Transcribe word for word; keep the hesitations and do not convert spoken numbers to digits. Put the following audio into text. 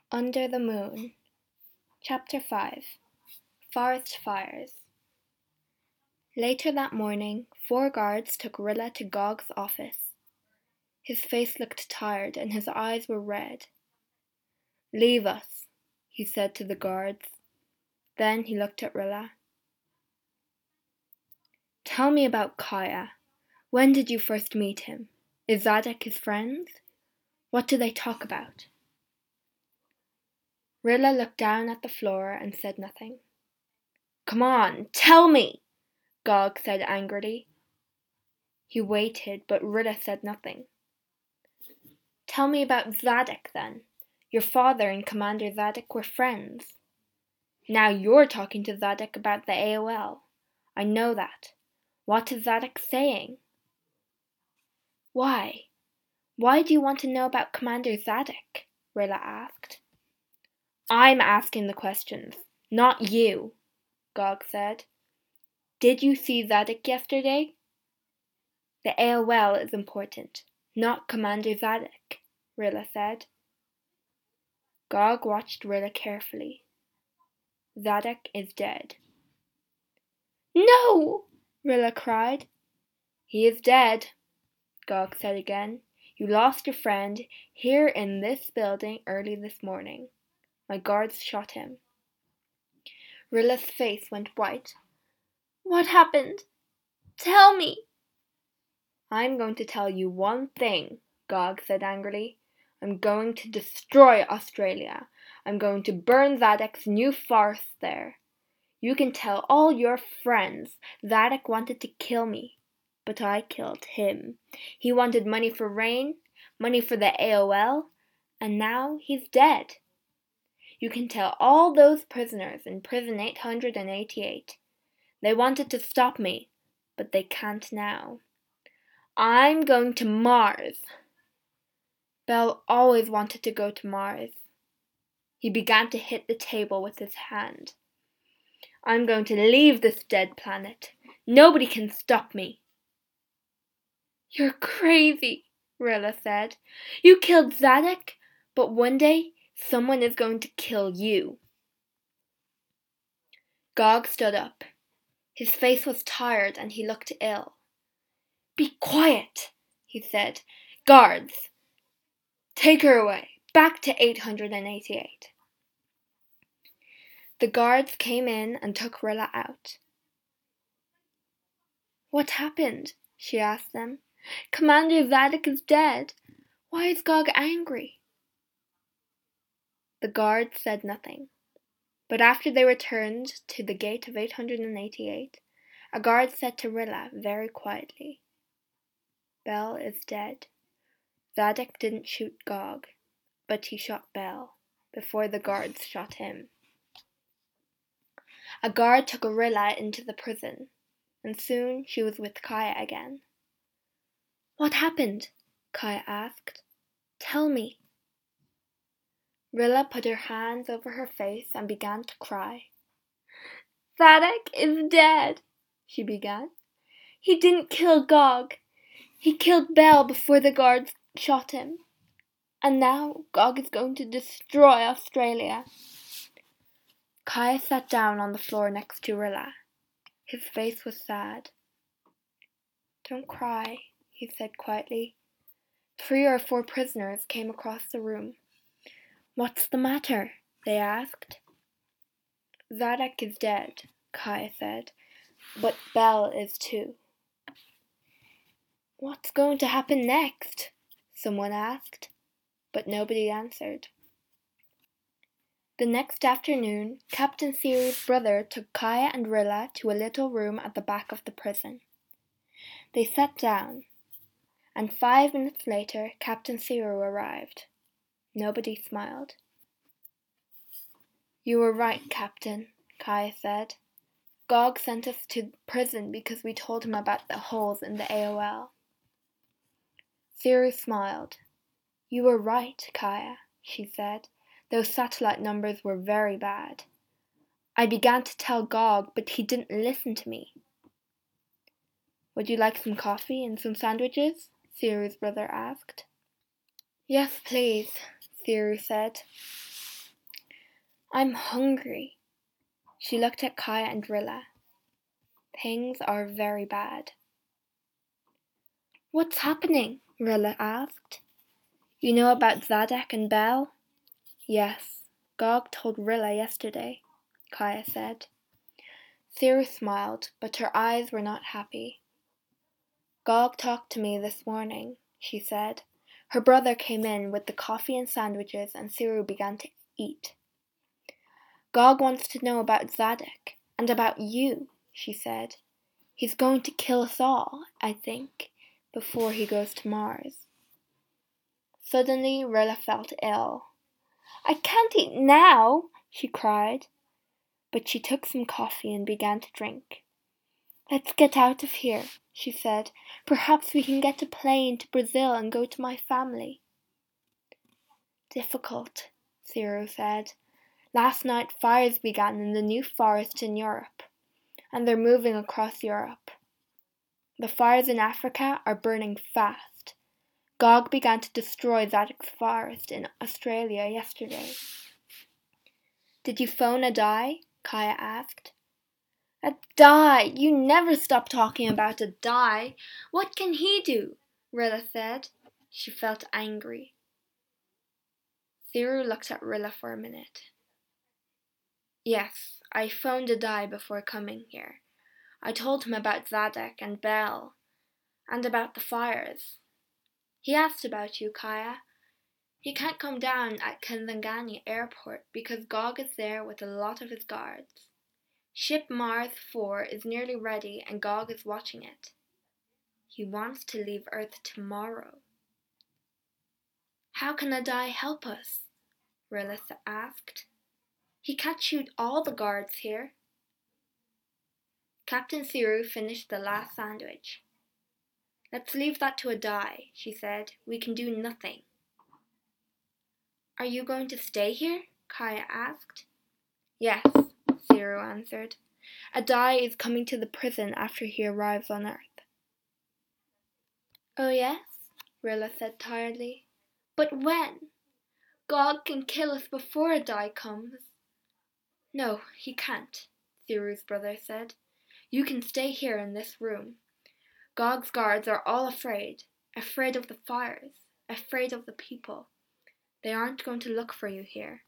Under the Moon. Chapter five. Forest Fires. Later that morning, four guards took Rilla to Gog's office. His face looked tired and his eyes were red. "Leave us," he said to the guards. Then he looked at Rilla. "Tell me about Kaya. When did you first meet him? Is Zadok his friend? What do they talk about?" Rilla looked down at the floor and said nothing. "Come on, tell me!" Gog said angrily. He waited, but Rilla said nothing. "Tell me about Zadok, then. Your father and Commander Zadok were friends. Now you're talking to Zadok about the A O L. I know that. What is Zadok saying?" "Why? Why do you want to know about Commander Zadok?" Rilla asked. "I'm asking the questions, not you," Gog said. "Did you see Zadok yesterday?" "The A O L is important, not Commander Zadok," Rilla said. Gog watched Rilla carefully. "Zadok is dead." "No!" Rilla cried. "He is dead," Gog said again. "You lost your friend here in this building early this morning. My guards shot him." Rilla's face went white. "What happened? Tell me!" "I'm going to tell you one thing," Gog said angrily. "I'm going to destroy Australia. I'm going to burn Zadok's new forest there. You can tell all your friends Zadok wanted to kill me, but I killed him. He wanted money for rain, money for the A O L, and now he's dead. You can tell all those prisoners in prison eight hundred eighty-eight. They wanted to stop me, but they can't now. I'm going to Mars." Bell always wanted to go to Mars. He began to hit the table with his hand. "I'm going to leave this dead planet. Nobody can stop me." "You're crazy," Rilla said. "You killed Zadok, but one day someone is going to kill you." Gog stood up. His face was tired and he looked ill. "Be quiet," he said. "Guards, take her away, back to eight hundred eighty-eight. The guards came in and took Rilla out. "What happened?" she asked them. "Commander Zadok is dead. Why is Gog angry?" The guards said nothing. But after they returned to the gate of eight hundred eighty-eight, a guard said to Rilla very quietly, "Bell is dead. Zadok didn't shoot Gog, but he shot Bell before the guards shot him." A guard took Rilla into the prison, and soon she was with Kaya again. "What happened?" Kaya asked. "Tell me." Rilla put her hands over her face and began to cry. "Zadok is dead," she began. "He didn't kill Gog. He killed Bell before the guards shot him. And now Gog is going to destroy Australia." Kaya sat down on the floor next to Rilla. His face was sad. "Don't cry," he said quietly. Three or four prisoners came across the room. "What's the matter?" they asked. "Zadok is dead," Kaya said, "but Bell is too." "What's going to happen next?" someone asked, but nobody answered. The next afternoon, Captain Seary's brother took Kaya and Rilla to a little room at the back of the prison. They sat down, and five minutes later Captain Seary arrived. Nobody smiled. "You were right, Captain," Kaya said. "Gog sent us to prison because we told him about the holes in the A O L. Seary smiled. "You were right, Kaya," she said. "Those satellite numbers were very bad. I began to tell Gog, but he didn't listen to me." "Would you like some coffee and some sandwiches?" Seary's brother asked. "Yes, please," Seary said. I'm hungry. She looked at Kaya and Rilla. Things are very bad. What's happening? Rilla asked. You know about Zadok and Bel? Yes, Gog told Rilla yesterday, Kaya said. Siru smiled, but her eyes were not happy. Gog talked to me this morning, she said. Her brother came in with the coffee and sandwiches and Siru began to eat. Gog wants to know about Zadok and about you, she said. He's going to kill us all, I think, before he goes to Mars. Suddenly Rilla felt ill. I can't eat now, she cried. But she took some coffee and began to drink. Let's get out of here, she said. Perhaps we can get a plane to Brazil and go to my family. Difficult, Siru said. Last night fires began in the new forest in Europe, and they're moving across Europe. The fires in Africa are burning fast. Gog began to destroy Zadok's forest in Australia yesterday. Did you phone Adai? Kaya asked. Adai! You never stop talking about Adai. What can he do? Rilla said. She felt angry. Siru looked at Rilla for a minute. Yes, I phoned Adai before coming here. I told him about Zadok and Bel, and about the fires. He asked about you, Kaya. He can't come down at Kisangani airport because Gog is there with a lot of his guards. Ship Mars four is nearly ready and Gog is watching it. He wants to leave Earth tomorrow. How can Adai help us? Rilla asked. He can't shoot all the guards here. Captain Siru finished the last sandwich. Let's leave that to Adai, she said. We can do nothing. Are you going to stay here? Kaya asked. Yes, Siru answered. Adai is coming to the prison after he arrives on Earth. Oh yes? Rilla said tiredly. But when? Gog can kill us before Adai comes. No, he can't, Siru's brother said. You can stay here in this room. Gog's guards are all afraid, afraid of the fires, afraid of the people. They aren't going to look for you here.